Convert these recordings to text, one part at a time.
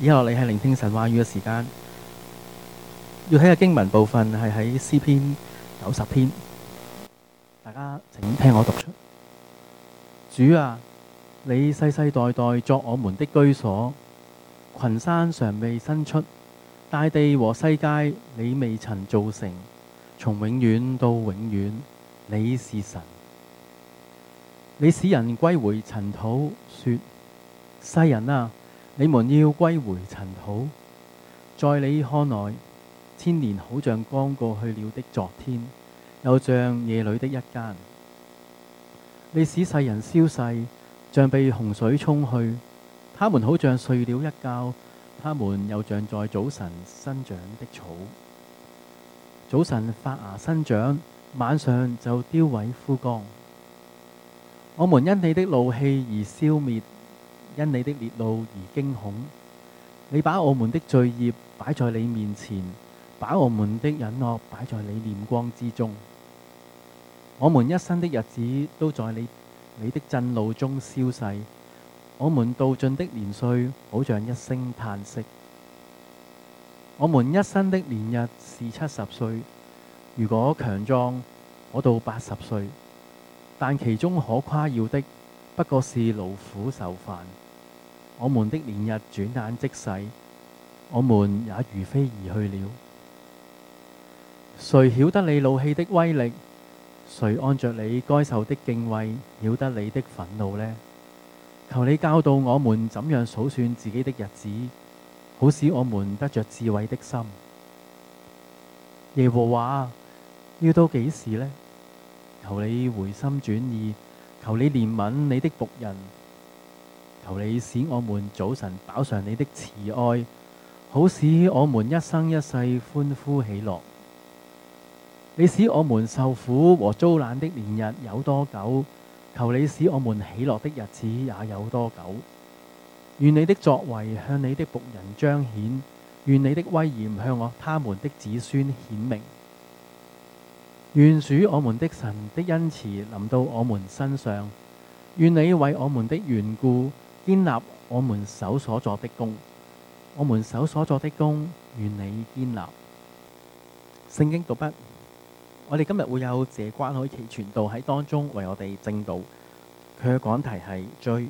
以下落嚟係聆聽神話語嘅時間，要睇嘅經文部分係喺詩篇90篇，大家請聽我讀出。主啊，你世世代代作我們的居所，群山尚未生出，大地和世界你未曾造成，從永遠到永遠，你是神。你使人歸回塵土，說：世人啊，你們要歸回塵土。在你看來，千年好像剛過去了的昨天，又像夜裏的一更。你使世人消逝，像被洪水沖去，他們好像睡了一覺，他們又像在早晨生長的草。早晨發芽生長，晚上就凋萎枯乾。我們因你的怒氣而消滅，因你的烈怒而驚恐。你把我們的罪孽擺在你面前，把我們的隱惡擺在你臉光之中。我們一生的日子都在你的震怒中消逝，我們度盡的年歲好像一聲嘆息。我們一生的年日是70歲，如果強壯，我到80歲。但其中可誇耀的，不過是勞苦愁煩。我們的年日轉眼即逝，我們也如飛而去了。誰曉得你怒氣的威力？誰按着你該受的敬畏曉得你的憤怒呢？求你教導我們怎樣數算自己的日子，好使我們得着智慧的心。耶和華，要到幾時呢？求你回心轉意，求你憐憫你的僕人，求你使我們早晨飽嘗你的慈愛，好使我們一生一世歡呼喜樂。你使我們受苦和遭難的年日有多久？求你使我們喜樂的日子也有多久？願你的作為向你的僕人彰顯，願你的威嚴向他們的子孫顯明。願主我們的神的恩慈臨到我們身上，願你為我們的緣故堅立我們手所作的工，我們手所作的工願你堅立。聖經讀畢，我哋今日會有謝關海琪傳道喺當中為我哋證道，佢嘅講題係追。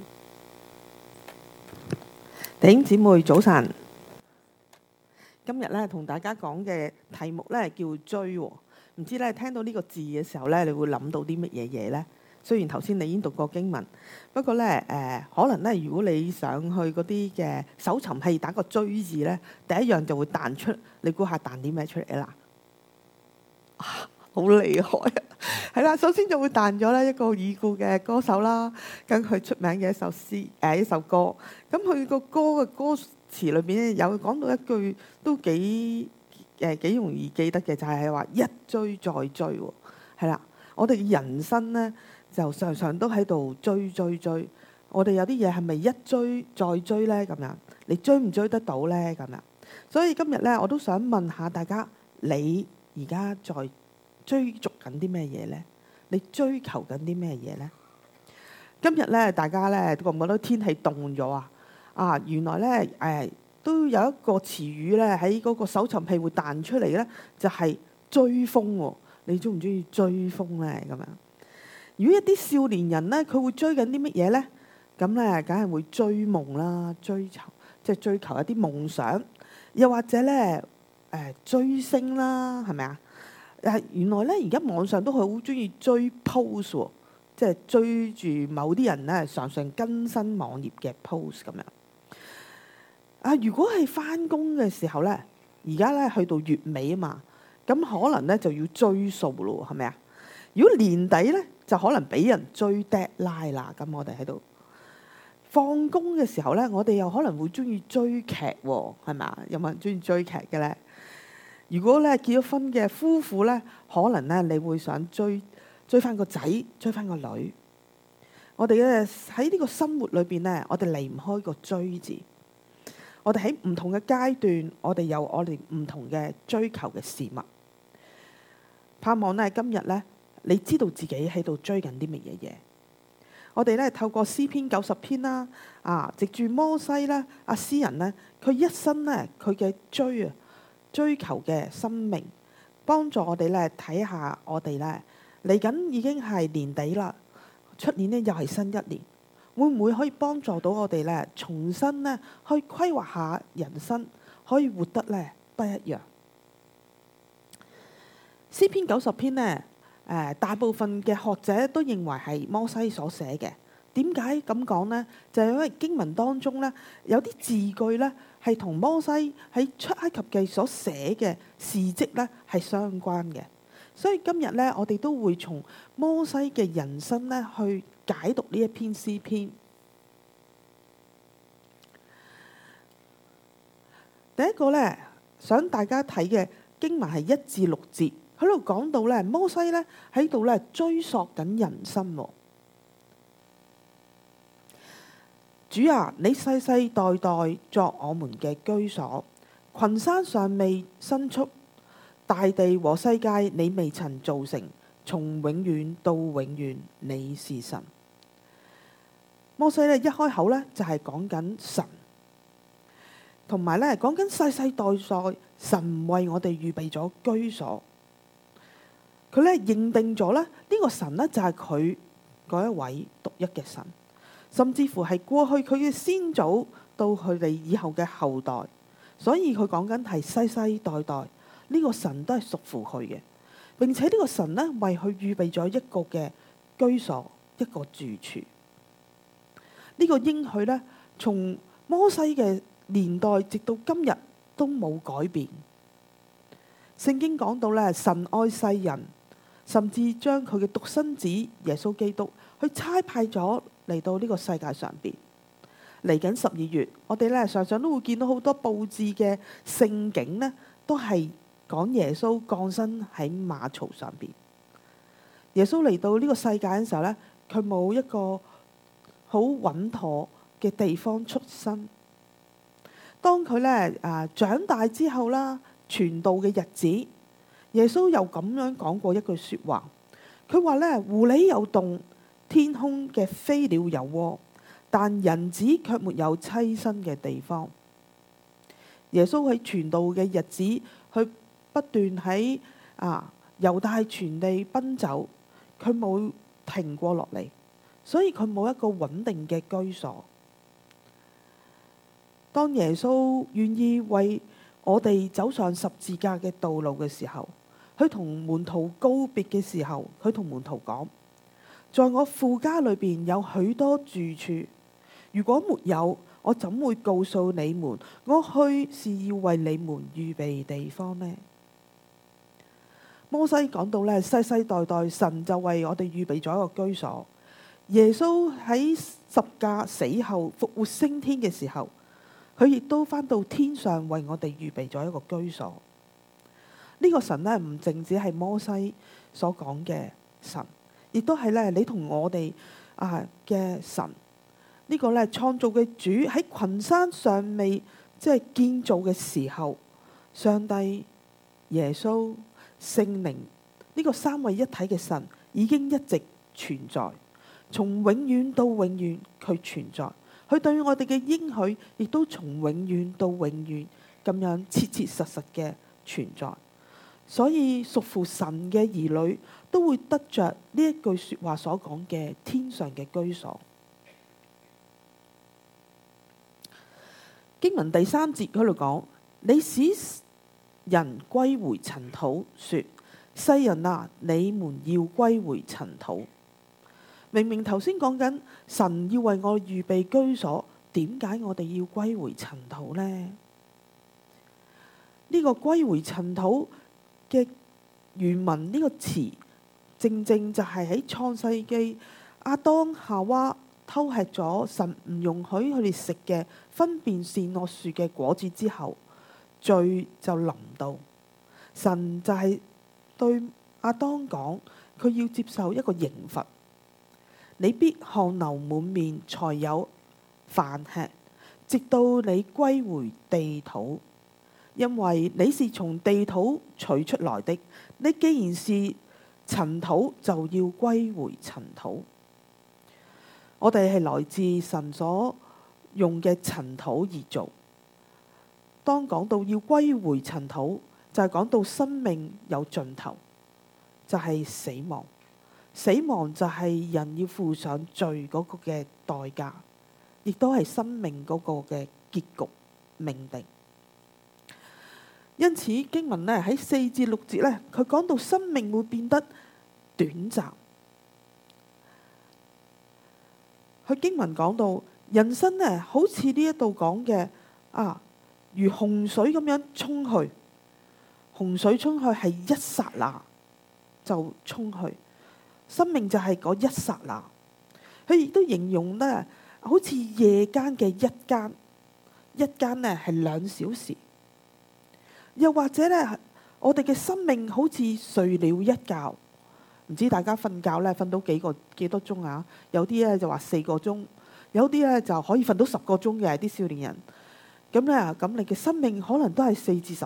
弟兄姊妹早晨，今日咧同大家講嘅題目咧叫追。唔知咧聽到呢個字嘅時候咧，你會諗到啲乜嘢嘢呢？雖然頭先你已經讀過經文，不過咧可能咧，如果你上去嗰啲嘅搜尋器打個追字咧，第一樣就會彈出，你估下彈啲咩出嚟啦？好厲害啊！係啦，首先就會彈咗咧一個已故嘅歌手啦，跟佢出名嘅一首詩一首歌。咁佢個歌嘅歌詞裏邊咧有講到一句都幾容易記得嘅，就係話一追再追喎。係啦，我哋人生咧就常常都喺度追。我哋有啲嘢係咪一追再追咧？咁樣你追唔追得到咧？咁樣，所以今日咧我都想問下大家，你而家在追逐緊啲咩嘢咧？你追求緊啲咩嘢咧？今日咧大家咧覺唔覺得天氣凍咗啊？原來咧都有一個詞語咧喺嗰個搜尋器會彈出嚟咧，就係追風喎。你中唔中意追風咧？咁樣，如果一啲少年人咧，佢會追緊啲乜嘢咧？咁咧，梗係會追夢啦，追求一啲夢想，又或者咧追星啦，係咪啊？原來咧而家網上都好中意追 post 喎，即係追住某啲人咧常常更新網頁嘅 post 咁樣。如果係返工嘅時候咧，而家咧去到月尾啊嘛，咁可能咧就要追數咯，係咪啊？如果年底咧，就可能俾人追 deadline 啦。咁我哋喺度放工嘅時候咧，我哋又可能會中意追劇喎，係咪啊？有冇人中意追劇嘅咧？如果咧結咗婚嘅夫婦咧，可能咧你會想追翻個仔，追翻個女。我哋咧喺呢個生活裏邊咧，我哋離唔開個追字。我哋喺唔同嘅階段，我哋有我哋唔同嘅追求嘅事物。盼望咧今日咧，你知道自己喺度追緊啲乜嘢嘢。 我哋咧透過詩篇90篇啦，藉住摩西咧，詩人咧，佢一生咧佢嘅追求嘅生命，幫助我哋咧睇下我哋咧嚟緊已經係年底啦，出年咧又係新一年，會唔會可以幫助到我哋咧重新咧去規劃下人生，可以活得咧不一樣？詩篇90篇呢，大部分嘅學者都認為係摩西所寫嘅。點解咁講呢？就係因為經文當中呢，有啲字句呢係同摩西喺出埃及記所寫嘅事蹟呢係相關嘅。所以今日呢，我哋都會從摩西嘅人生呢去解讀呢一篇詩篇。第一個呢，想大家睇嘅經文係1至6節。喺度講到咧，摩西咧喺度咧追溯緊人生。主啊，你世世代代作我們嘅居所，群山尚未生出，大地和世界你未曾造成，從永遠到永遠你是神。摩西咧一開口咧就係講緊神，同埋咧講緊世世代代神為我哋預備咗居所。佢咧認定咗咧呢個神呢，就係佢嗰一位獨一嘅神，甚至乎係過去佢嘅先祖到佢哋以後嘅後代，所以佢講緊係世世代代呢個神都係屬乎佢嘅。並且呢個神呢，為佢預備咗一個嘅居所，一個住處。呢個應許呢，從摩西嘅年代直到今日都冇改變。聖經講到咧，神愛世人，甚至將佢嘅獨生子耶穌基督去差派咗嚟到呢個世界上邊。嚟緊12月，我哋咧常常都會見到好多佈置嘅聖景呢，都係講耶穌降生喺馬槽上邊。耶穌嚟到呢個世界嘅時候呢，佢冇一個好穩妥嘅地方出生。當佢咧長大之後啦，傳道嘅日子，耶穌又咁樣講過一句說話，佢話咧，狐狸有洞，天空嘅飛鳥有窩，但人子卻沒有棲身嘅地方。耶穌喺傳道嘅日子，佢不斷喺猶大全地奔走，佢冇停過落嚟，所以佢冇一個穩定嘅居所。當耶穌願意為我哋走上十字架嘅道路嘅時候，佢同門徒告別嘅時候，佢同門徒講：在我父家裏邊有許多住處，如果沒有，我怎會告訴你們，我去是要為你們預備地方呢？摩西講到咧，世世代代神就為我哋預備咗一個居所。耶穌喺十架死後復活升天嘅時候，佢亦都返到天上為我哋預備咗一個居所。呢個神呢，唔淨止係摩西所講嘅神，亦都係咧你同我哋嘅神。呢個咧創造嘅主喺群山尚未建造嘅時候，上帝、耶穌、聖靈呢個三位一體嘅神已經一直存在，從永遠到永遠佢存在。佢對我哋嘅應許亦都從永遠到永遠咁樣切切實實嘅存在。所以屬乎神嘅兒女都會得着呢一句說話所講嘅天上嘅居所。經文第3節嗰度講：你使人歸回塵土，說世人啊，你們要歸回塵土。明明頭先講緊神要為我預備居所，點解我哋要歸回塵土呢？呢個歸回塵土嘅原文呢個詞，正正就係喺創世紀亞當夏娃偷吃咗神唔容許佢哋食嘅分辨善惡樹嘅果子之後，罪就臨到。神就係對亞當講，佢要接受一個刑罰。你必汗流滿面才有飯吃，直到你歸回地土，因為你是從地土取出來的。你既然是塵土，就要歸回塵土。 我哋係來自神所用嘅塵土而做。當講到要歸回塵土，就係講到生命有盡頭，就係死亡。死亡就係人要付上罪嗰個嘅代價，亦都係生命嗰個嘅結局命定。因此經文呢喺4至6節呢，佢講到生命會變得短暫。佢經文講到人生呢，好似呢一度講嘅如洪水咁樣沖去。洪水沖去係一剎那就沖去。生命就係嗰一剎那，佢亦都形容呢，好似夜間嘅一間，一間呢係2小時，又或者呢，我哋嘅生命好似睡了一覺，唔知大家瞓覺呢瞓到幾多鐘啊？有啲呢就話4個鐘，有啲呢就可以瞓到10個鐘嘅啲少年人，咁你嘅生命可能都係4至10。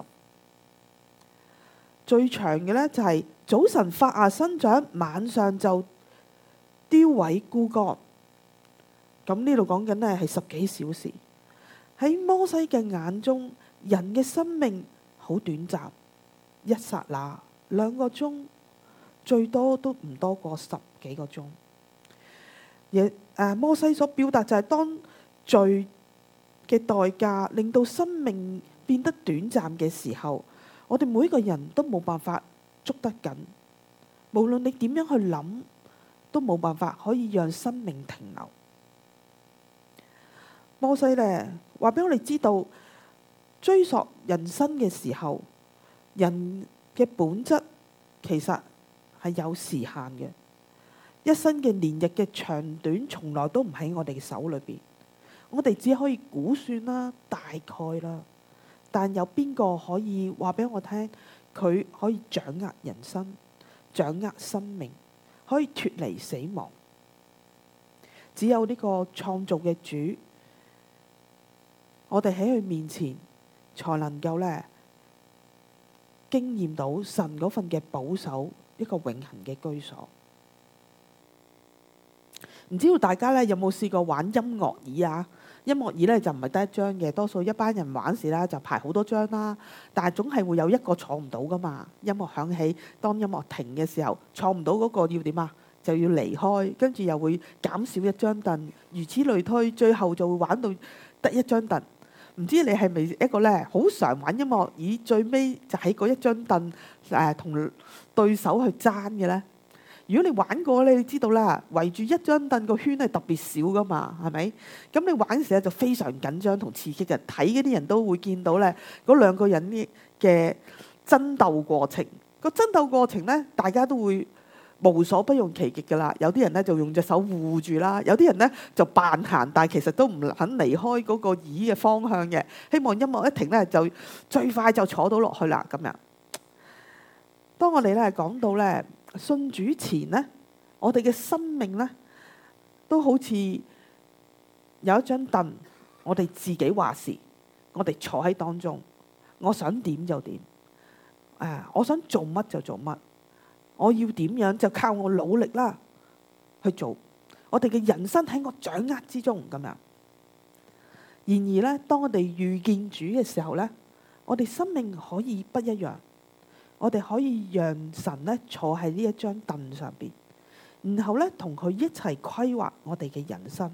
最長嘅呢，就係早晨發芽生長，晚上就凋萎枯乾。咁呢度講緊呢係10幾小時。喺摩西嘅眼中，人嘅生命好短暫，一剎那2個鐘，最多都唔多過10幾個鐘。摩西所表達就係當罪嘅代價令到生命變得短暫嘅時候，我哋每個人都冇辦法捉得緊，無論你點樣去諗，都冇辦法可以讓生命停留。摩西呢話俾我哋知道，追溯人生嘅時候，人嘅本質其實係有時限嘅。一生嘅年日嘅長短，從來都唔喺我哋嘅手裏邊，我哋只可以估算啦，大概啦。但有邊個可以話俾我聽，佢可以掌握人生、掌握生命，可以脫離死亡？只有呢個創造嘅主，我哋喺佢面前才能夠呢經驗到神嗰份嘅保守，一個永恆嘅居所。唔知道大家呢有冇試過玩音樂椅啊？音樂椅呢就唔係得一張嘅，多數一班人玩時啦就排好多張啦，但係總係會有一個坐唔到噶嘛。音樂響起，當音樂停嘅時候，坐唔到嗰個要點啊？就要離開，跟住又會減少一張凳，如此類推，最後就會玩到得一張凳。唔知你係咪一個呢好常玩音樂椅，最尾就喺嗰一張凳同對手去爭嘅呢？如果你玩過咧，你知道啦，圍住一張凳個圈係特別少噶嘛，係咪？咁你玩嘅時候就非常緊張同刺激嘅，睇嗰啲人都會見到咧，嗰2個人嘅爭鬥過程。個爭鬥過程咧，大家都會無所不用其極噶啦。有啲人咧就用隻手護住啦，有啲人咧就扮行，但係其實都唔肯離開嗰個椅嘅方向嘅，希望音樂一停咧就最快就坐到落去啦咁樣。當我哋咧講到咧信主前呢，我哋嘅生命呢都好似有一張凳，我哋自己話事，我哋坐喺當中，我想點就點，我想做乜就做乜，我要點樣就靠我努力啦去做，我哋嘅人生喺我掌握之中咁樣。然而呢，當我哋遇見主嘅時候呢，我哋生命可以不一樣。我哋可以讓神呢坐喺呢一張凳上邊，然後呢同佢一齊規劃我哋嘅人生。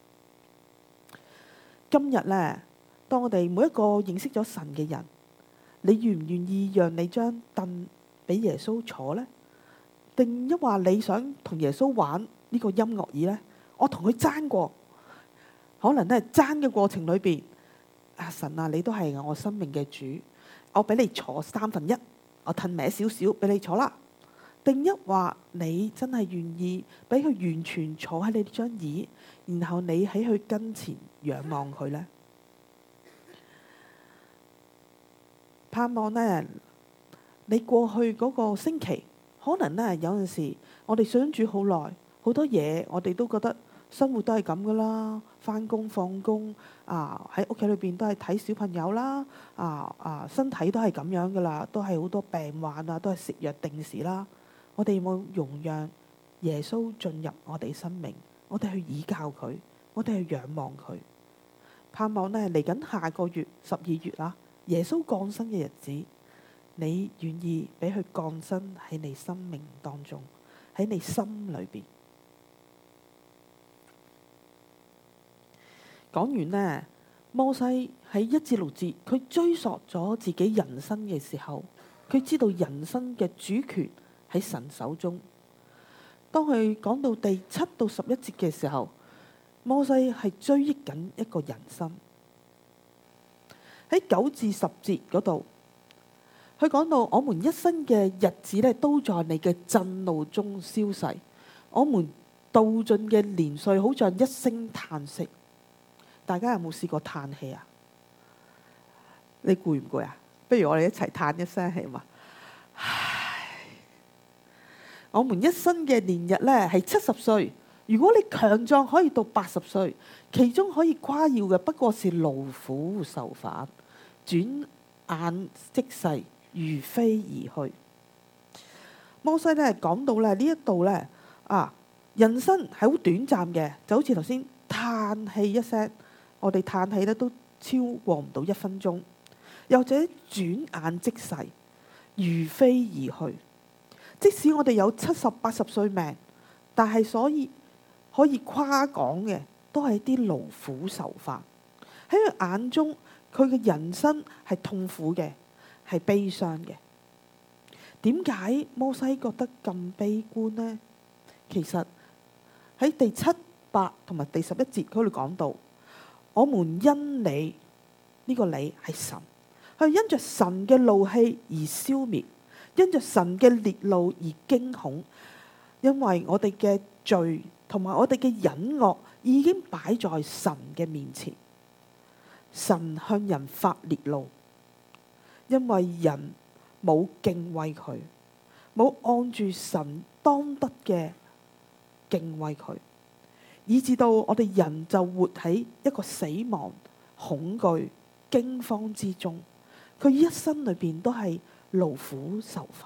今日呢，當我哋每一個認識咗神嘅人，你願唔願意讓你張凳俾耶穌坐呢？定一話你想同耶穌玩呢個音樂椅呢？我同佢爭過，可能呢爭嘅過程裏邊，神啊，你都係我生命嘅主，我俾你坐1/3。我褪歪少少俾你坐啦。定一話你真係願意俾佢完全坐喺你張椅，然後你喺佢跟前仰望佢呢？盼望呢，你過去嗰個星期，可能呢有陣時我哋相處好耐，好多嘢我哋都覺得生活都係咁噶啦，返工放工喺屋企裏邊都係睇小朋友啦，身體都係咁樣噶啦，都係好多病患啊，都係食藥定時啦。我哋有冇容讓耶穌進入我哋生命？ 我哋去倚靠佢，我哋去仰望佢，盼望呢嚟緊下個月12月啦，耶穌降生嘅日子，你願意俾佢降生喺你生命當中，喺你心裏邊。講完呢，摩西喺1至6節，佢追溯咗自己人生嘅時候，佢知道人生嘅主權喺神手中。當佢講到第7到11節嘅時候，摩西係追憶緊一個人生。喺9至10節嗰度，佢講到我們一生嘅日子呢，都在你嘅震怒中消逝，我們度盡嘅年歲好像一聲嘆息。大家有冇試過嘆氣啊？你攰唔攰啊？不如我哋一齊嘆一聲氣嘛。唉，我們一生嘅年日呢係70歲。如果你強壯可以到80歲，其中可以誇耀嘅不過是勞苦受煩，轉眼即逝，如飛而去。摩西呢講到呢一度呢，人生係好短暫嘅，就好似頭先嘆氣一聲。我哋嘆氣咧都超過唔到1分鐘，又或者轉眼即逝，如飛而去。即使我哋有70、80歲命，但係所以可以誇講嘅都係一啲勞苦受煩。喺佢眼中，佢嘅人生係痛苦嘅，係悲傷嘅。點解摩西覺得咁悲觀呢？其實喺第7、8同埋第11節佢哋講到，我們因你，呢個你係神，佢因着神嘅怒氣而消滅，因着神嘅烈怒而驚恐，因為我哋嘅罪同埋我哋嘅隱惡已經擺在神嘅面前。神向人發烈怒，因為人冇敬畏佢，冇按住神當得嘅敬畏佢，以至到我哋人就活喺一個死亡、恐懼、驚慌之中。佢一生裏邊都係勞苦受煩。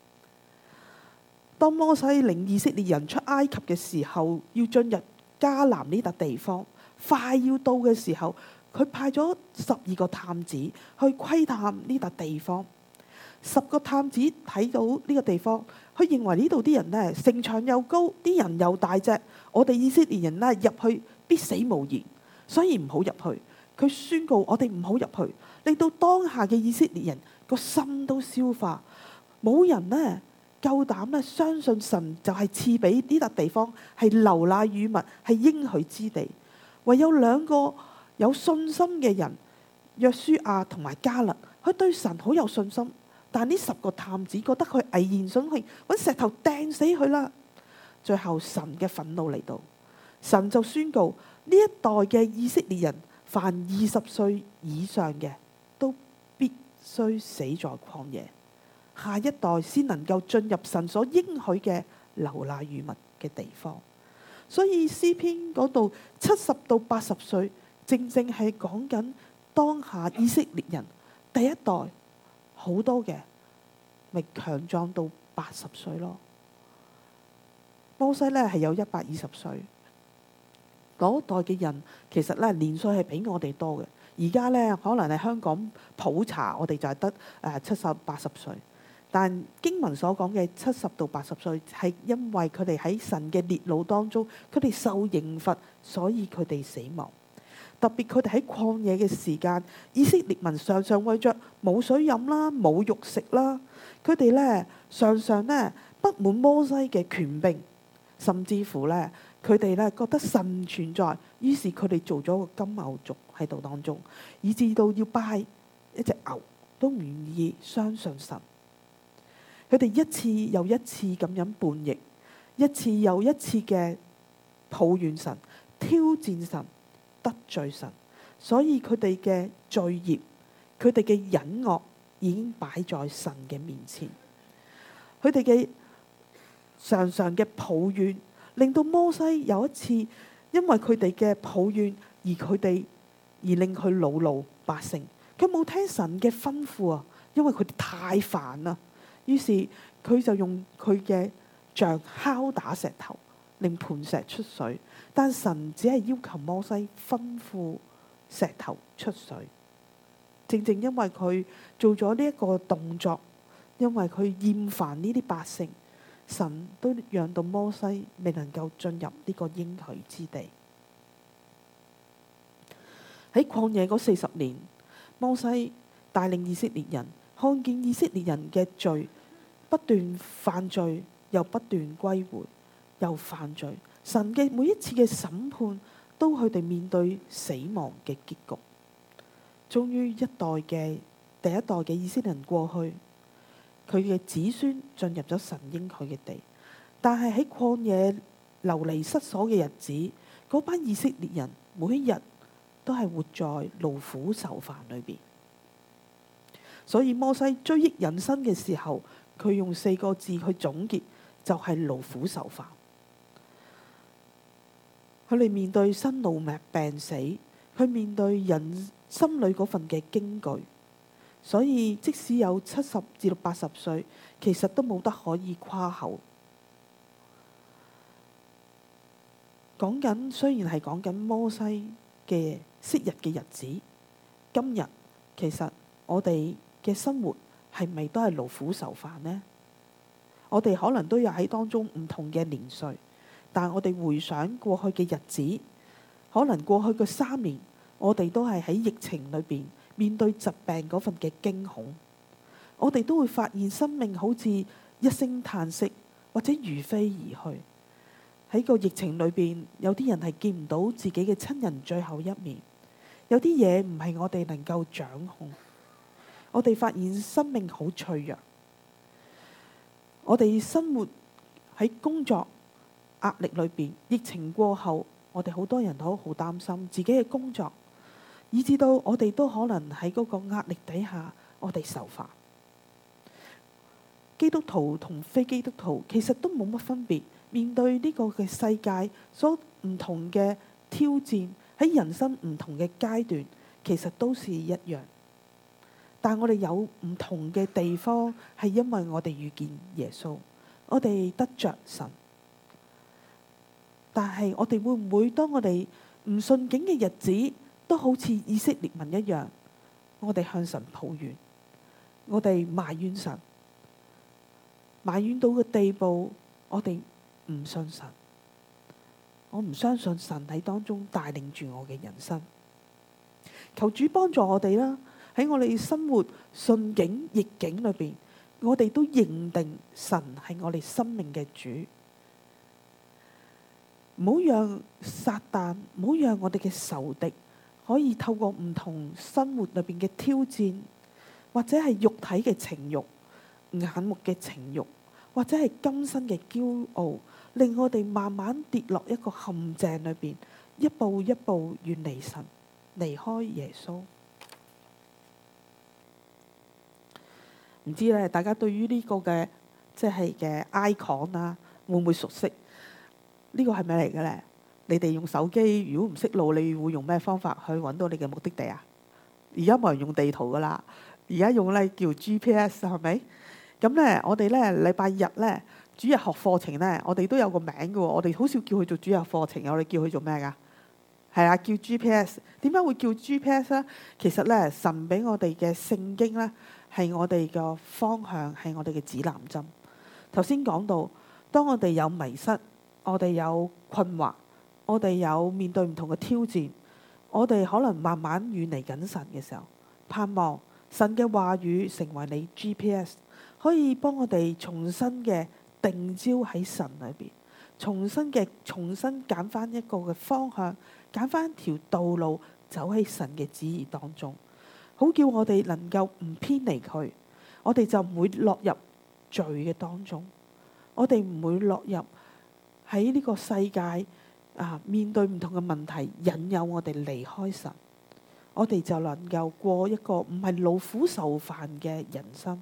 當摩西領以色列人出埃及嘅時候，要進入迦南呢笪地方，快要到嘅時候，佢派咗12個探子去窺探呢笪地方。10個探子睇到呢個地方，佢認為呢度啲人呢，城牆又高，啲人又大隻，我哋以色列人呢入去必死無疑，所以唔好入去。佢宣告我哋唔好入去，令到當下嘅以色列人個心都消化，冇人呢夠膽呢相信神就係賜俾呢笪地方係流奶與蜜，係應許之地。唯有2個有信心嘅人，約書亞同埋迦勒，佢對神好有信心。但呢10個探子覺得佢危言聳聽，揾石頭掟死佢啦。最後神嘅憤怒嚟到，神就宣告呢一代嘅以色列人，凡20歲以上嘅都必須死在曠野，下一代先能夠進入神所應許嘅流奶與蜜嘅地方。所以詩篇嗰度70到80歲，正正係講緊當下以色列人第一代。好多嘅咪強壯到80歲咯。摩西呢係有120歲，嗰代嘅人其實呢年歲係比我哋多嘅。而家呢可能係香港普查，我哋就係得70、80歲。但經文所講嘅70到80歲係因為佢哋喺神嘅烈怒當中，佢哋受刑罰，所以佢哋死亡。特別佢哋喺曠野嘅時間，以色列民常常為着冇水飲啦、冇肉食啦，佢哋呢常常呢不滿摩西嘅權柄，甚至乎呢佢哋呢覺得神唔存在，於是佢哋做咗個金牛犢喺度當中，以至到要拜一隻牛都唔願意相信神。佢哋一次又一次咁樣叛逆，一次又一次嘅抱怨神、挑戰神、得罪神，所以佢哋嘅罪孽、佢哋嘅隱惡已經擺在神嘅面前。佢哋嘅常常嘅抱怨，令到摩西有一次因為佢哋嘅抱怨而令佢惱怒百姓。佢冇聽神嘅吩咐啊，因為佢哋太煩啦。於是佢就用佢嘅杖敲打石頭， 令磐石出水，但神只係要求摩西吩咐石頭出水。正正因為佢做咗呢一個動作，因為佢厭煩呢啲百姓，神都讓到摩西未能夠進入呢個應許之地。喺曠野嗰40年，摩西帶領以色列人，看見以色列人嘅罪，不斷犯罪，又不斷歸回，又犯罪。神嘅每一次嘅審判，都佢哋面對死亡嘅結局。終於第一代嘅以色列人過去，佢嘅子孫進入咗神應許嘅地。但係喺曠野流離失所嘅日子，嗰班以色列人每一日都係活在勞苦愁煩裏邊。所以摩西追憶人生嘅時候，佢用4個字去總結，就係勞苦愁煩。佢哋面對生老病死，佢面對人心裏嗰份嘅驚懼。所以即使有70至80歲，其實都冇得可以誇口。雖然係講緊摩西嘅昔日嘅日子，今日其實我哋嘅生活係咪都係勞苦愁煩呢？我哋可能都有喺當中唔同嘅年歲，但我哋回想過去嘅日子，可能過去嘅3年，我哋都係喺疫情裏邊面對疾病嗰份嘅驚恐，我哋都會發現生命好似一聲嘆息，或者如飛而去。喺個疫情裏邊，有啲人係見唔到自己嘅親人最後一面，有啲嘢唔係我哋能夠掌控。我哋發現生命好脆弱，我哋生活喺工作壓力裏邊，疫情過後，我哋好多人都好擔心自己嘅工作，以至到我哋都可能喺嗰個壓力底下，我哋受煩。基督徒同非基督徒其實都冇乜分別，面對呢個嘅世界所唔同嘅挑戰，喺人生唔同嘅階段，其實都是一樣。但我哋有唔同嘅地方，係因為我哋遇見耶穌，我哋得着神。但係我哋會唔會當我哋唔順境嘅日子，都好似以色列民一樣，我哋向神抱怨，我哋埋怨神，埋怨到嘅地步，我哋唔信神，我唔相信神喺當中帶領住我嘅人生。求主幫助我哋啦，喺我哋生活順境逆境裏邊，我哋都認定神係我哋生命嘅主，唔好讓撒旦，唔好讓我哋嘅仇敵可以透過唔同生活裏邊嘅挑戰，或者係肉體嘅情慾、眼目嘅情慾，或者係今生嘅驕傲，令我哋慢慢跌落一個陷阱裏邊，一步一步遠離神，離開耶穌。唔知咧，大家對於呢個嘅即係嘅 icon 啊，會唔會熟悉？呢個係咩嚟嘅咧？你哋用手機，如果唔識路，你會用咩方法去揾到你嘅目的地啊？而家冇人用地圖噶啦，而家用咧叫 GPS 係咪？咁咧，我哋咧禮拜日咧主日學課程咧，我哋都有個名嘅喎。我哋好少叫佢做主日課程，我哋叫佢做咩噶？係啊，叫 GPS。點解會叫 GPS 咧？其實咧，神俾我哋嘅聖經咧，係我哋嘅方向，係我哋嘅指南針。頭先講到，當我哋有迷失，我哋有困惑，我哋有面對唔同嘅挑戰，我哋可能慢慢遠離緊神嘅時候，盼望神嘅話語成為你 GPS， 可以幫我哋重新嘅定焦喺神裏邊，重新揀翻一個嘅方向，揀翻一條道路走喺神嘅旨意當中，好叫我哋能夠唔偏離佢，我哋就唔會落入罪嘅當中，我哋唔會落入喺呢個世界面對唔同嘅問題引誘我哋離開神，我哋就能夠過一個唔係勞苦愁煩嘅人生。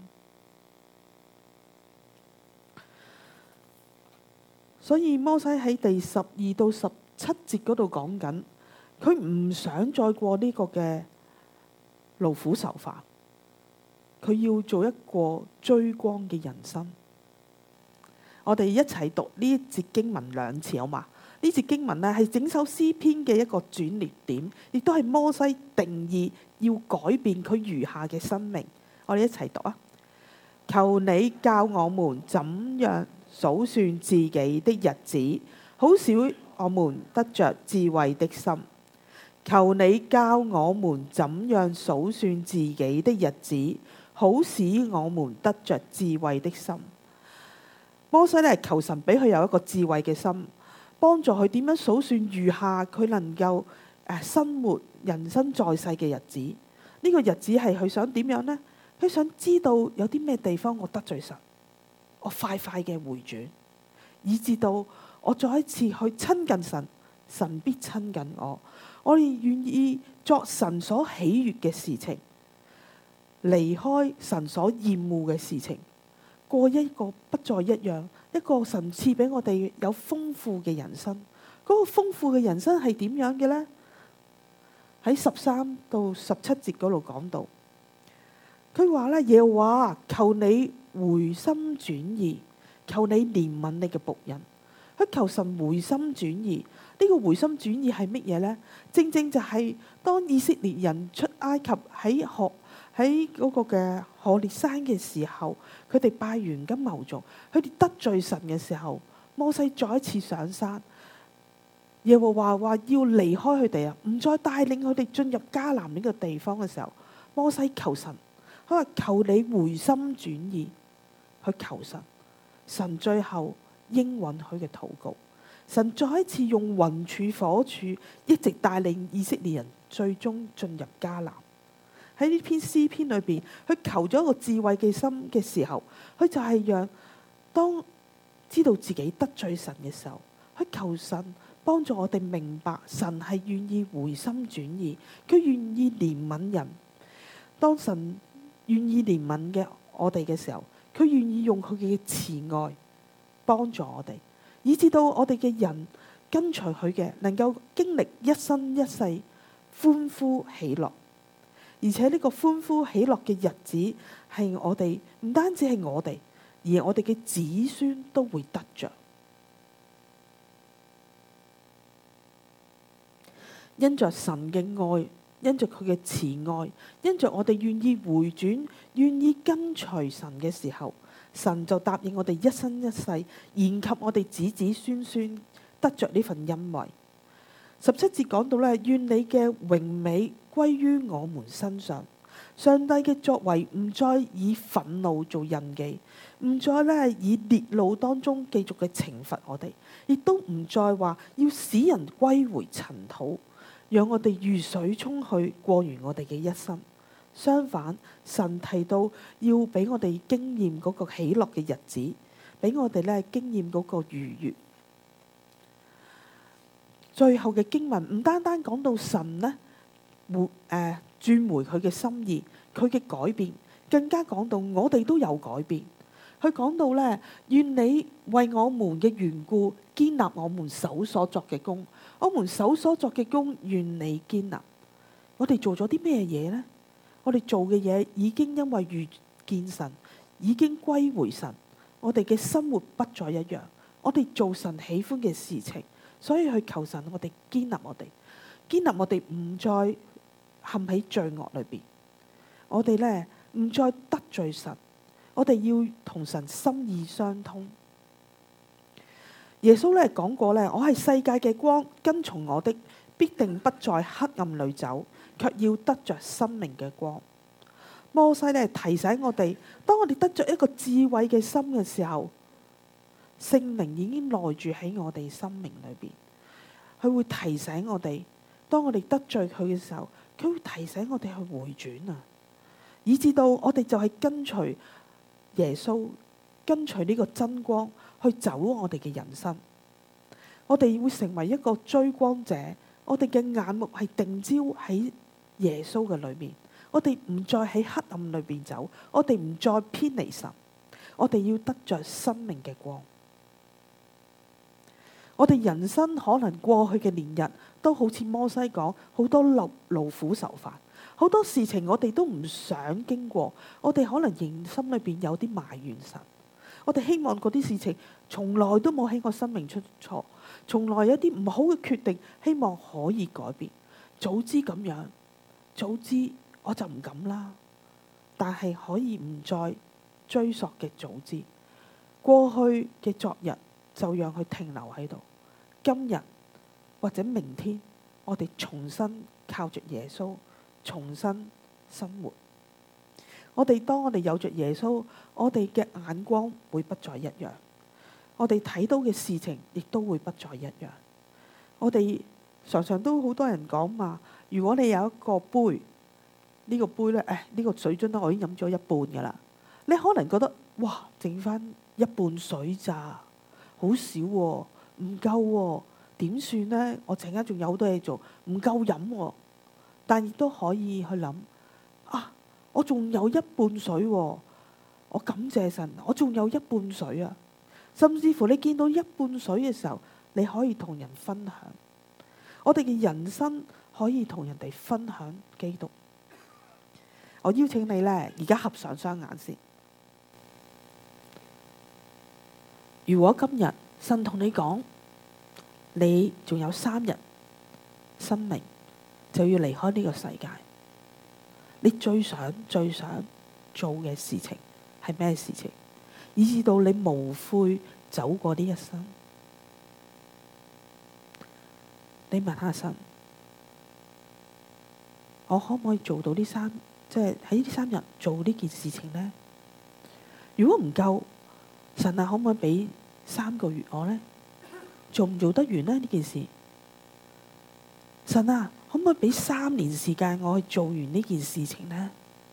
所以摩西喺第12到17節嗰度講緊，佢唔想再過呢個嘅勞苦愁煩，佢要做一個追光嘅人生。 我哋一齊讀呢一節經文2次好嘛？呢節經文呢係整首詩篇嘅一個轉捩點，亦都係摩西定義要改變佢餘下嘅生命。我哋一齊讀啊！求你教我們怎樣數算自己的日子，好使我們得着智慧的心。求你教我們怎樣數算自己的日子，好使我們得着智慧的心。摩西呢，求神俾佢有一個智慧嘅心，幫助佢點樣數算餘下佢能夠生活人生在世嘅日子。呢個日子係佢想點樣呢？佢想知道有啲咩地方我得罪神，我快嘅回轉，以至到我再一次去親近神，神必親近我。我哋願意作神所喜悅嘅事情，離開神所厭惡嘅事情，過一個不再一樣，一個神賜俾我哋有豐富嘅人生。嗰個豐富嘅人生係點樣嘅呢？喺13到17節嗰度講到，佢話咧，耶和華，求你回心轉意，求你憐憫你嘅僕人。佢求神回心轉意。呢個回心轉意係乜嘢呢？正正就係當以色列人出埃及喺嗰個嘅何烈山嘅時候，佢哋拜完金牛犢，佢哋得罪神嘅時候，摩西再一次上山，耶和華話要離開佢哋啊，唔再帶領佢哋進入迦南呢個地方嘅時候，摩西求神，佢話求你回心轉意，去求神，神最後應允佢嘅禱告。神再一次用雲柱火柱一直帶領以色列人最終進入迦南。喺呢篇詩篇裏邊，佢求咗一個智慧嘅心嘅時候，佢就係讓當知道自己得罪神嘅時候，佢求神幫助我哋明白神係願意回心轉意，佢願意憐憫人。當神願意憐憫嘅我哋嘅時候，佢願意用佢嘅慈愛幫助我哋，以至到我哋嘅人跟隨佢嘅，能夠經歷一生一世歡呼喜樂。而且呢個歡呼喜樂嘅日子係我哋，唔單止係我哋，而我哋嘅子孫都會得着。因着神嘅愛，因着佢嘅慈愛，因着我哋願意回轉，願意跟隨神嘅時候，神就答應我哋一生一世延及我哋子子孫孫得着呢份恩惠。17節講到咧，願你嘅榮美歸於我們身上。上帝嘅作為唔再以憤怒做印記，唔再咧以烈怒當中繼續嘅懲罰我哋，亦都唔再話要使人歸回塵土，讓我哋如水沖去過完我哋嘅一生。相反，神提到要俾我哋經驗嗰個喜樂嘅日子，俾我哋咧經驗嗰個愉悅。最後嘅經文唔單單講到神呢轉回佢嘅心意，佢嘅改變，更加講到我哋都有改變。佢講到呢，願你為我們嘅緣故堅立我們手所作嘅工，我們手所作嘅工願你堅立。我哋做咗啲咩嘢呢？我哋做嘅嘢已經因為遇見神，已經歸回神，我哋嘅生活不再一樣，我哋做神喜歡嘅事情。所以去求神，我哋堅立我哋，堅立我哋唔再陷喺罪惡裏邊。我哋呢唔再得罪神，我哋要同神心意相通。耶穌呢講過呢，我係世界嘅光，跟從我的必定不在黑暗裏走，卻要得着生命嘅光。摩西呢提醒我哋，當我哋得着一個智慧嘅心嘅時候，聖靈已經內住喺我哋生命裏邊，佢會提醒我哋，當我哋得罪佢嘅時候，佢會提醒我哋去回轉啊，以至到我哋就係跟隨耶穌，跟隨呢個真光去走我哋嘅人生。我哋會成為一個追光者，我哋嘅眼目係定焦喺耶穌嘅裏面，我哋唔再喺黑暗裏邊走，我哋唔再偏離神，我哋要得着生命嘅光。我哋人生可能過去嘅年日都好似摩西講，好多勞苦愁煩，好多事情我哋都唔想經過，我哋可能仍心裏邊有啲埋怨神， 我哋希望嗰啲事情從來都冇喺我生命出錯，從來有啲唔好嘅決定，希望可以改變。早知咁樣，早知我就唔敢啦。但係可以唔再追溯嘅早知，過去嘅昨日就讓佢停留喺度。今日或者明天，我哋重新靠着耶穌，重新生活。當我哋有着耶穌，我哋嘅眼光會不再一樣，我哋睇到嘅事情亦都會不再一樣。我哋常常都好多人講嘛，如果你有一個杯，呢個杯呢，呢個水樽呢，我已經飲咗一半噶啦。你可能覺得哇，剩翻一半水咋，好少喎，唔夠喎，點算呢？我陣間仲有好多嘢做，唔夠飲喎。但亦都可以去諗啊，我仲有一半水喎，我感謝神，我仲有一半水啊。甚至乎你見到一半水嘅時候，你可以同人分享。我哋嘅人生可以同人哋分享基督。我邀請你呢，而家合上雙眼先。如果今日神同你講，你仲有3日生命就要離開呢個世界，你最想做嘅事情係咩事情？以至到你無悔走過呢一生。你問下神，我可唔可以做到即係喺呢3日做呢件事情呢？如果唔夠，神啊，可唔可以俾3個月我呢？做唔做得完呢件事？神啊，可唔可以俾3年時間我去做完呢件事情呢？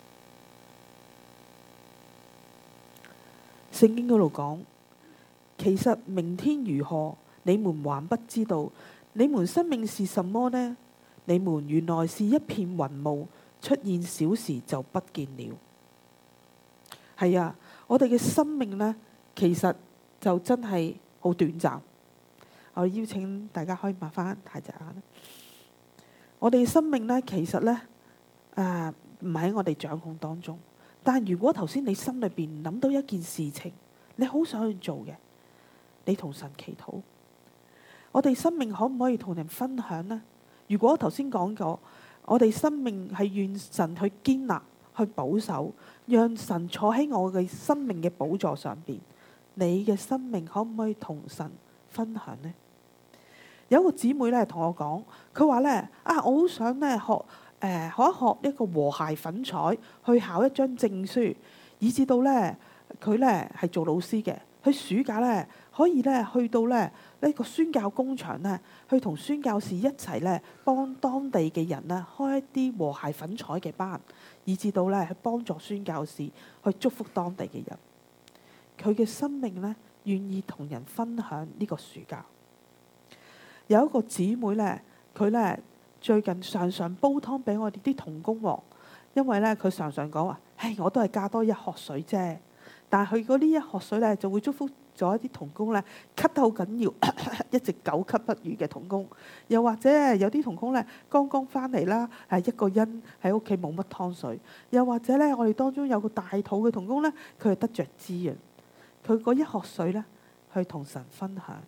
聖經嗰度講，其實明天如何，你們還不知道。你們生命是什麼呢？你們原來是一片雲霧，出現小時就不見了。係啊，我哋嘅生命呢，其實就真係好短暫。我邀請大家可以擘翻大隻眼。我哋生命呢，其實呢，唔喺我哋掌控當中。但如果頭先你心裏邊諗到一件事情，你好想去做嘅，你同神祈禱。我哋生命可唔可以同人分享呢？如果頭先講過，我哋生命係願神去堅立、去保守，讓神坐喺我嘅生命嘅寶座上邊，你嘅生命可唔可以同神分享呢？有一個姊妹咧同我講，佢話咧我好想咧學一個和諧粉彩，去考一張證書，以至到咧佢咧係做老師嘅，佢暑假咧可以咧去到咧呢個宣教工場咧，去同宣教士一齊咧幫當地嘅人咧開一啲和諧粉彩嘅班，以至到咧去幫助宣教士去祝福當地嘅人。佢嘅生命咧願意同人分享呢個暑假。有一個姊妹咧，佢咧最近常常煲湯俾我哋啲同工喎，因為咧佢常常講話，我都係加多一殼水啫。但係佢嗰啲一殼水咧，就會祝福咗一啲同工咧咳得好緊要，一直久咳不愈嘅同工。又或者有啲同工咧剛剛翻嚟啦，一個人喺屋企冇乜湯水。又或者咧，我哋當中有個大肚嘅同工咧，佢係得着滋潤，佢嗰一殼水咧去同神分享。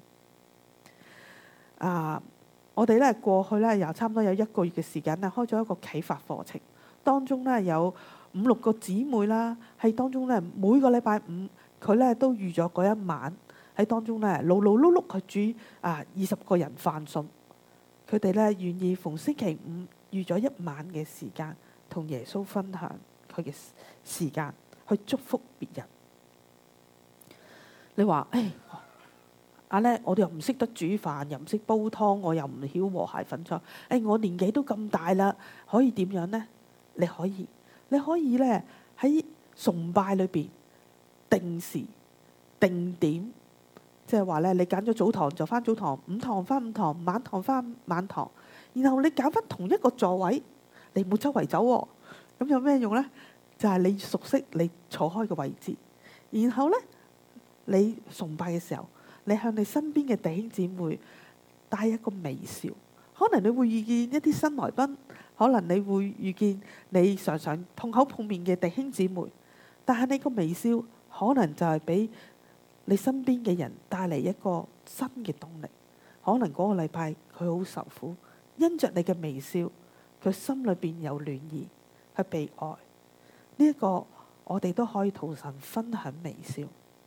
我哋咧過去咧又差唔多有1個月嘅時間咧，開咗一個啟發課程，當中咧有5-6個姊妹啦，喺當中咧每個禮拜5，佢咧都預咗嗰一晚喺當中咧勞勞碌碌去煮20個人飯餸。佢哋咧願意逢星期5預咗1晚嘅時間，同耶穌分享佢嘅時間，去祝福別人。你話我哋又唔識得煮飯，又唔識煲湯，我又唔曉和諧粉彩。我年紀都咁大啦，可以點樣呢？你可以咧喺崇拜裏邊定時定點，即係話咧，你揀咗早堂就翻早堂，午堂翻午堂，晚堂翻晚堂，然後你揀翻同一個座位，你唔好周圍走喎。咁有咩用呢？就係你熟悉你坐開嘅位置，然後呢，你崇拜嘅時候，你向你身邊嘅弟兄姊妹帶一個微笑。可能你會遇見一啲新來賓，可能你會遇見你常常碰口碰面嘅弟兄姊妹，但係你個微笑可能就係俾你身邊嘅人帶嚟一個新嘅動力。可能嗰個禮拜佢好受苦，因着你嘅微笑，佢心裏邊有暖意，係被愛。呢一個我哋都可以同神分享微笑。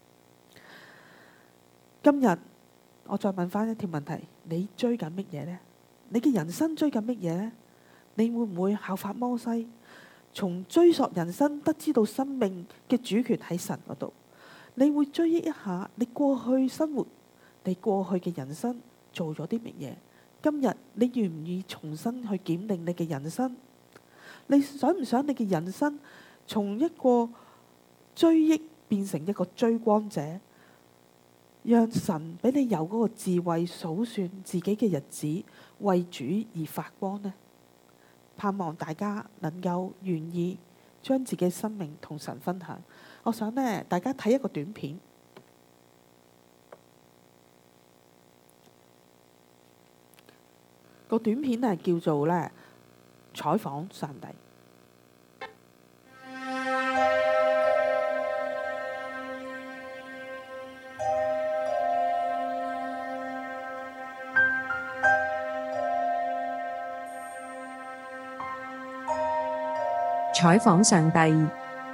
今日我再問翻一條問題：你追緊乜嘢呢？你嘅人生追緊乜嘢呢？你會唔會效法摩西，從追索人生得知到生命嘅主權喺神嗰度？你會追憶一下你過去生活，你過去嘅人生做咗啲乜嘢？今日你願唔願意重新去檢定你嘅人生？你想唔想你嘅人生從一個追憶變成一個追光者，讓神俾你有嗰個智慧數算自己嘅日子，為主而發光呢？盼望大家能夠願意將自己生命同神分享。我想呢，大家睇一個短片。個短片係叫做呢，採訪上帝。 採訪上帝。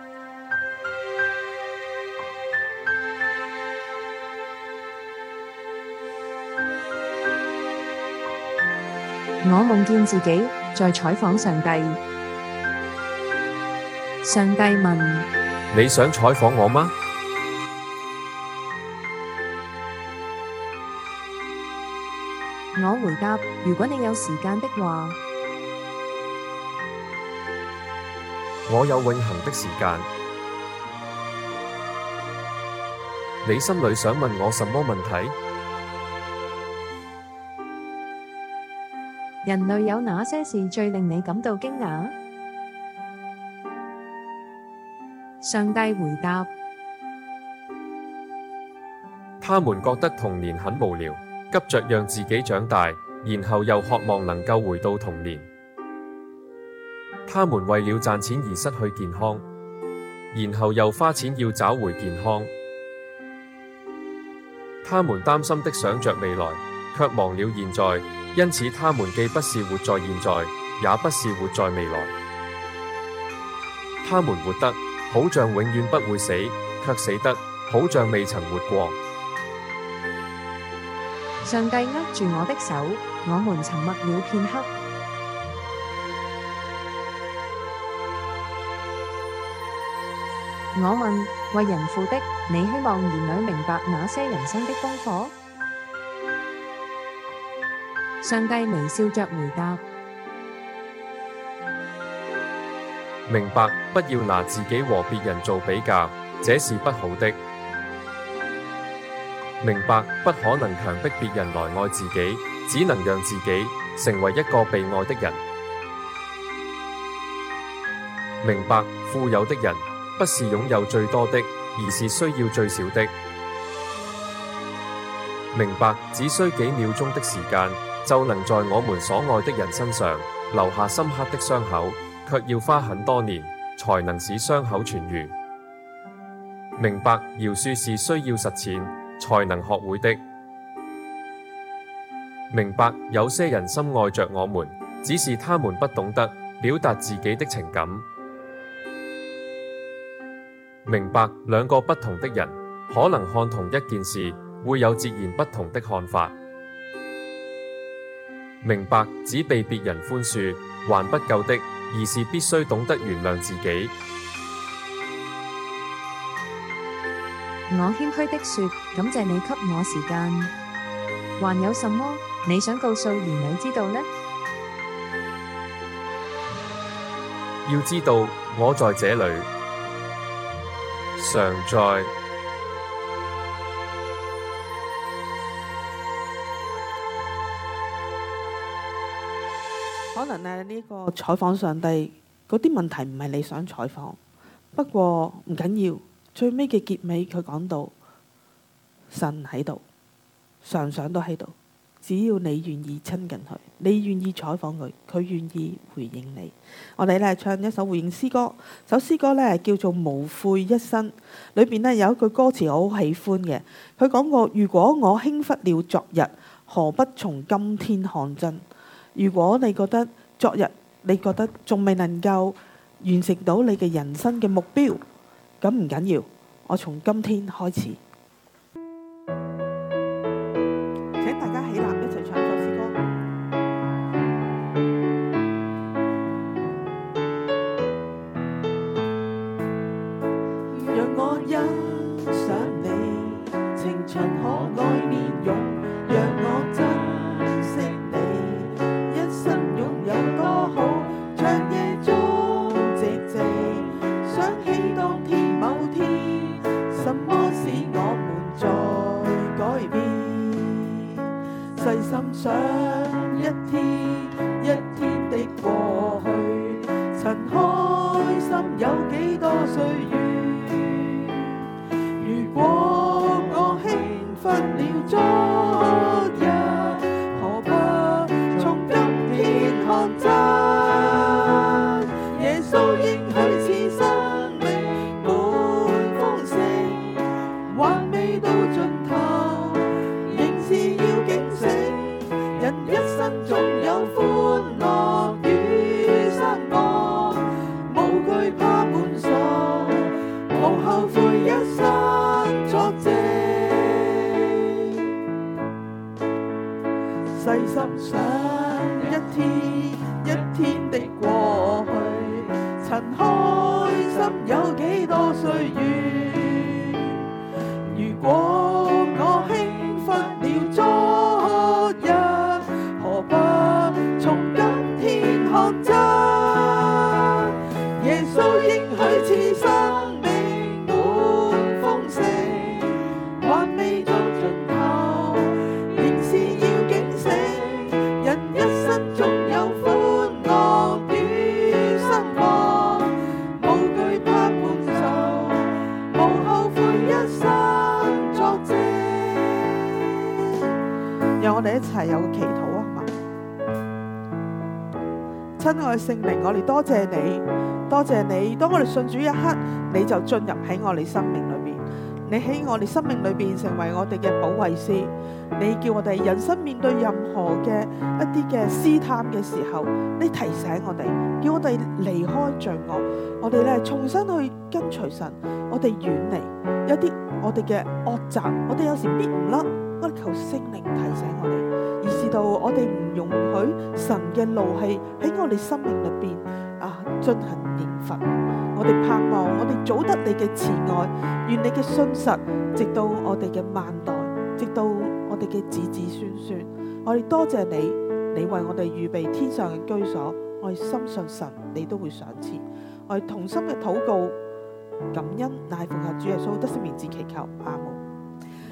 我夢見自己在採訪上帝。上帝問： 你想採訪我嗎？ 我回答：如果你有時間的話。 我有永恆的時間。你心裏想問我什麼問題？ 人類有哪些事最令你感到驚訝？上帝回答： 他們覺得童年很無聊，急着讓自己長大，然後又渴望能夠回到童年。他們為了賺錢而失去健康，然後又花錢要找回健康。他們擔心的想着未來，卻忘了現在，因此他們既不是活在現在，也不是活在未來。他們活得好像永遠不會死，卻死得好像未曾活過。 上帝握住我的手，我們沉默了片刻。我問：為人父的，你希望兒女明白哪些人生的功課？上帝微笑着回答： 明白，不要拿自己和別人做比較，這是不好的。明白，不可能強迫別人來愛自己，只能讓自己成為一個被愛的人。明白，富有的人不是擁有最多的，而是需要最少的。明白，只需幾秒鐘的時間，就能在我們所愛的人身上留下深刻的傷口，卻要花很多年才能使傷口痊癒。明白，饒恕是需要實踐才能學會的。明白，有些人深愛着我們，只是他們不懂得表達自己的情感。明白，兩個不同的人可能看同一件事會有截然不同的看法。明白，只被別人寬恕還不夠的，而是必須懂得原諒自己。 我謙虛的說：感謝你給我時間。還有什麼你想告訴兒女知道呢？ 要知道，我在這裡，常在。 可能呢個採訪上帝嗰啲問題唔係你想採訪，不過唔緊要。最尾嘅結尾佢講到神喺度，常常都喺度， 只要你願意親近佢，你願意採訪佢，佢願意回應你。我哋咧唱一首回應詩歌，首詩歌咧叫做《無悔一生》，裏邊咧有一句歌詞我好喜歡嘅，佢講過：如果我輕忽了昨日，何不從今天看真？如果你覺得昨日你覺得仲未能夠完成到你嘅人生嘅目標，咁唔緊要，我從今天開始。請大家起立一齊唱首詩歌。讓我欣賞你青春可愛面容，讓我珍惜你一生擁有多好。長夜中寂靜，想起當天某天，什麼使我們在改變？細心想一天一天的過去，曾開心有幾多歲月？如果我輕忽了昨日，何不從今天看真？耶穌應許賜生命滿豐盛，還未到盡頭，仍是要警醒。人一生總有歡樂與失望，無懼怕滿愁，無後悔一生作證。細心想一天一天的過去，曾開心有幾多歲月？如果我輕忽了昨日，何不從今天看真？耶穌應許賜生命滿豐盛，還未到盡頭，仍是要警醒。人一生總有歡樂與失望，無懼怕滿愁，無後悔一生作證。讓我哋一齊有個祈禱啊，好嘛？親愛聖靈，我哋多謝你，多謝你。當我哋信主一刻，你就進入喺我哋生命裏邊，你喺我哋生命裏邊成為我哋嘅保惠師。你叫我哋人生面對任何嘅一啲嘅試探嘅時候，你提醒我哋，叫我哋離開罪惡，我哋咧重新去跟隨神，我哋遠離一啲我哋嘅惡習，我哋有時搣唔甩，我哋求聖靈提醒我哋，以致到我哋唔容許神嘅怒氣喺我哋生命裏邊進行刑罰。我哋盼望我哋早得你嘅慈愛，願你嘅信實直到我哋嘅萬代，直到我哋嘅子子孫孫。我哋多謝你，你為我哋預備天上嘅居所，我哋深信神你都會賞賜。我哋同心嘅禱告感恩，乃奉靠主耶穌得勝名字祈求，阿門。